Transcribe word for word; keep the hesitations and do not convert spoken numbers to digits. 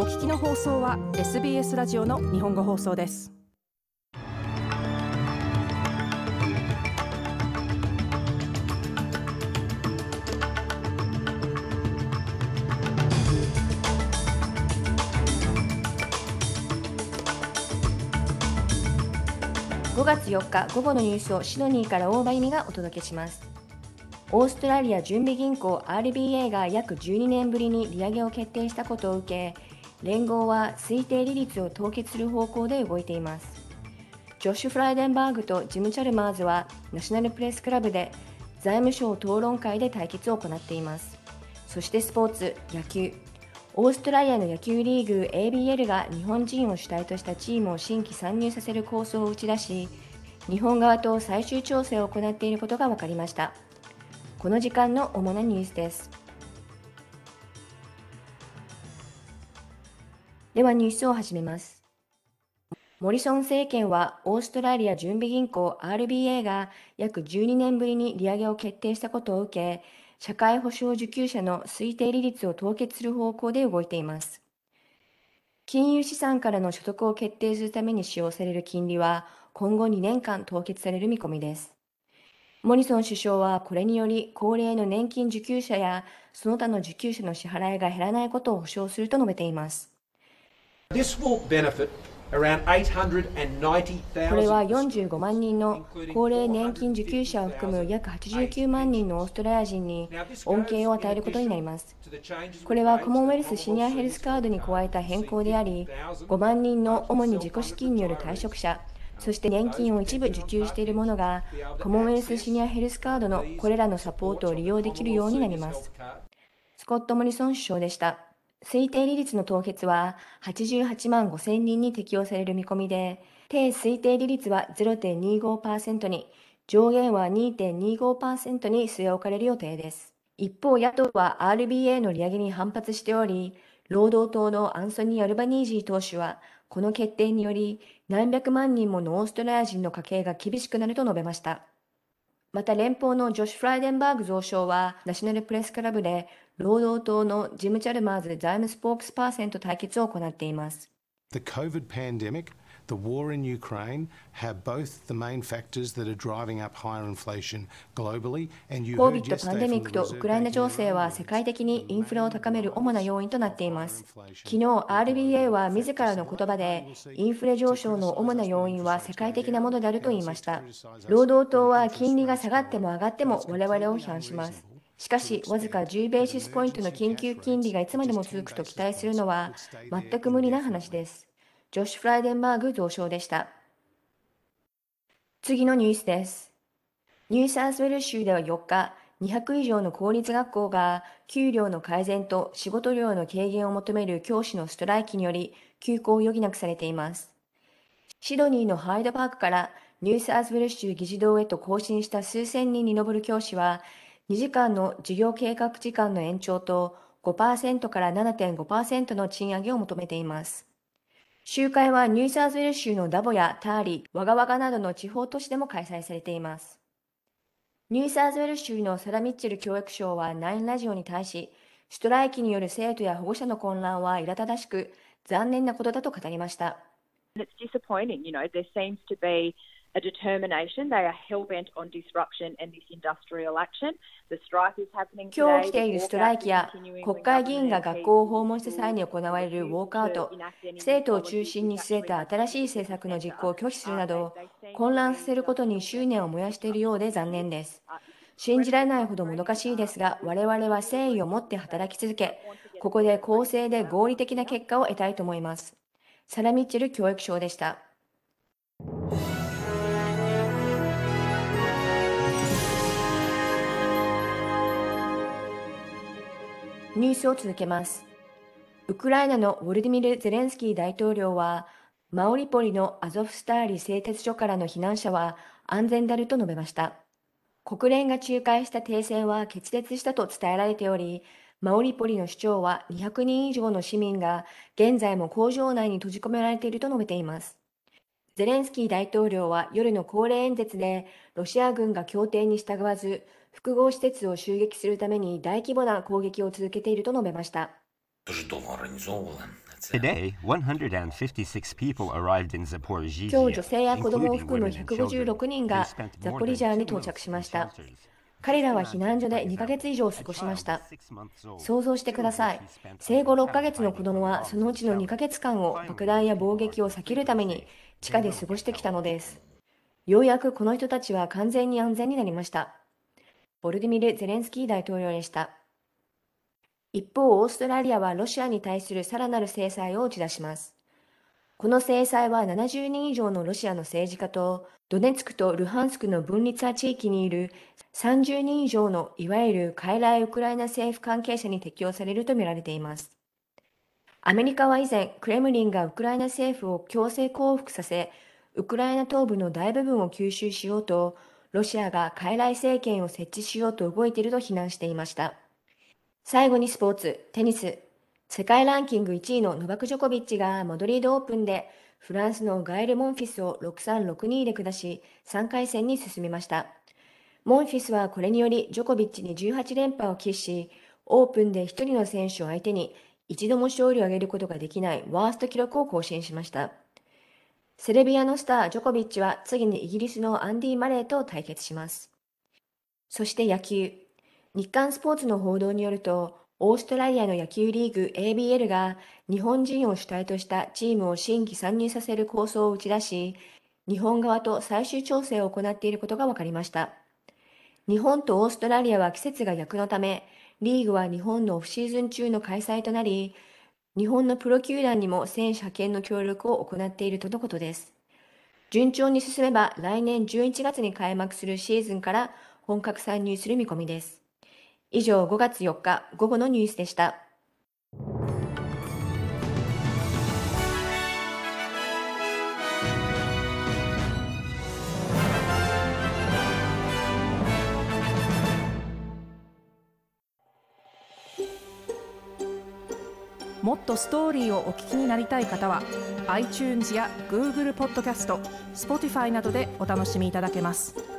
お聞きの放送は エスビーエス ラジオの日本語放送です。 ごがつよっか午後のニュースをシドニーから大場由美がお届けします。オーストラリア準備銀行 アールビーエー が約じゅうにねんぶりに利上げを決定したことを受け、連合は推定利率を凍結する方向で動いています。ジョシュ・フライデンバーグとジム・チャルマーズはナショナルプレスクラブで財務省討論会で対決を行っています。そしてスポーツ、野球。オーストラリアの野球リーグ エービーエル が日本人を主体としたチームを新規参入させる構想を打ち出し、日本側と最終調整を行っていることが分かりました。この時間の主なニュースです。ではニュースを始めます。モリソン政権はオーストラリア準備銀行 アールビーエー が約じゅうにねんぶりに利上げを決定したことを受け、社会保障受給者の推定利率を凍結する方向で動いています。金融資産からの所得を決定するために使用される金利は今後にねんかん凍結される見込みです。モリソン首相はこれにより高齢の年金受給者やその他の受給者の支払いが減らないことを保証すると述べています。 This will benefit around eight hundred ninety thousand. これはよんじゅうごまんにんの高齢年金受給者を含む約はちじゅうきゅうまんにんのオーストラリア人に恩恵を与えることになります。これはコモンウェルスシニアヘルスカードに加えた変更であり、ごまんにんの主に自己資金による退職者、そして年金を一部受給している者がコモンウェルスシニアヘルスカードのこれらのサポートを利用できるようになります。スコット・モリソン首相でした。推定利率の凍結ははちじゅうはちまんごせんにんに適用される見込みで、低推定利率は ゼロてんにじゅうごパーセント に、上限は にてんにじゅうごパーセント に据え置かれる予定です。一方、野党は アールビーエー の利上げに反発しており、労働党のアンソニー・アルバニージー党首は、この決定により何百万人ものオーストラリア人の家計が厳しくなると述べました。また連邦のジョシュ・フライデンバーグ増相はナショナルプレスクラブで労働党のジム・チャルマーズ財務スポークスパーセント対決を行っています。 The COVID pandemic, the war in Ukraine have both the main factors that are driving up higher inflation globally. And you heard yesterday パンデミックとウクライナ情勢は世界的にインフレを高める主な要因となっています。昨日 アールビーエー は自らの言葉でインフレ上昇の主な要因は世界的なものであると言いました。労働党は金利が下がっても上がっても我々を批判します。しかし、わずかじゅうベーシスポイントの緊急金利がいつまでも続くと期待するのは全く無理な話です。ジョシュ・フライデンバーグ増相でした。次のニュースです。ニューサウスウェル州ではよっか、にひゃくいじょうの公立学校が給料の改善と仕事量の軽減を求める教師のストライキにより休校を余儀なくされています。シドニーのハイドパークからニューサウスウェル州議事堂へと行進した数千人に上る教師は、にじかんの授業計画時間の延長と ごパーセント から ななてんごパーセント の賃上げを求めています。集会はニューサウスウェル州のダボやターリー、ワガワガなどの地方都市でも開催されています。ニューサウスウェル州のサラ・ミッチェル教育相はナインラジオに対し、ストライキによる生徒や保護者の混乱は苛立たしく、残念なことだと語りました。 It's disappointing, you know, there seems to be a determination. They are hell-bent on disruption and this industrial action. The strike is happening today. 今日起きているストライキや国会議員が学校を訪問した際に行われるウォークアウト、生徒を中心に据えた新しい政策の実行を拒否するなど、混乱させることに執念を燃やしているようで残念です。信じられないほどもどかしいですが、我々は誠意を持って働き続け、ここで公正で合理的な結果を得たいと思います。サラ・ミッチェル教育相でした。ニュースを続けます。ウクライナのウォルディミル・ゼレンスキー大統領は、マオリポリのアゾフスターリ製鉄所からの避難者は安全であると述べました。国連が仲介した停戦は決裂したと伝えられており、マオリポリの市長はにひゃくにん以上の市民が現在も工場内に閉じ込められていると述べています。ゼレンスキー大統領は夜の恒例演説で、ロシア軍が協定に従わず、複合施設を襲撃するために大規模な攻撃を続けていると述べました。 Today, one hundred fifty-six people arrived in 今日 Zaporizhia, 女性や子供を including 含む women ひゃ and くごじゅうろ children. くにん They が spent ザ more ポリ than ジャーに two 到 months 着し in ました。 shelters. 彼らは避難所でにかげつ以上過ごしました。 A child six months old 想像してください。生後ろっかげつの子供はそのうちのにかげつかんを爆弾や砲撃を避けるために地下で過ごしてきたのです。ようやくこの人たちは完全に安全になりました。ボルディミル・ゼレンスキー大統領でした。一方、オーストラリアはロシアに対するさらなる制裁を打ち出します。この制裁はななじゅうにん以上のロシアの政治家とドネツクとルハンスクの分立派地域にいるさんじゅうにん以上のいわゆる傀儡ウクライナ政府関係者に適用されるとみられています。アメリカは以前、クレムリンがウクライナ政府を強制降伏させ、ウクライナ東部の大部分を吸収しようと、ロシアが傀儡政権を設置しようと動いていると非難していました。最後にスポーツ、テニス。世界ランキングいちいのノバク・ジョコビッチがマドリードオープンでフランスのガエル・モンフィスをろくさんろくにで下しさんかい戦に進みました。モンフィスはこれによりジョコビッチにじゅうはちれんぱを喫し、オープンでひとりの選手を相手に一度も勝利を挙げることができないワースト記録を更新しました。セルビアのスタージョコビッチは次にイギリスのアンディ・マレーと対決します。そして野球。日刊スポーツの報道によると、オーストラリアの野球リーグ エービーエル が日本人を主体としたチームを新規参入させる構想を打ち出し、日本側と最終調整を行っていることが分かりました。日本とオーストラリアは季節が逆のため、リーグは日本のオフシーズン中の開催となり、日本のプロ球団にも選手派遣の協力を行っているとのことです。順調に進めば来年じゅういちがつに開幕するシーズンから本格参入する見込みです。以上、ごがつよっか午後のニュースでした。 もっとストーリーをお聞きになりたい方は iTunes や Google ポッドキャスト、Spotify などでお楽しみいただけます。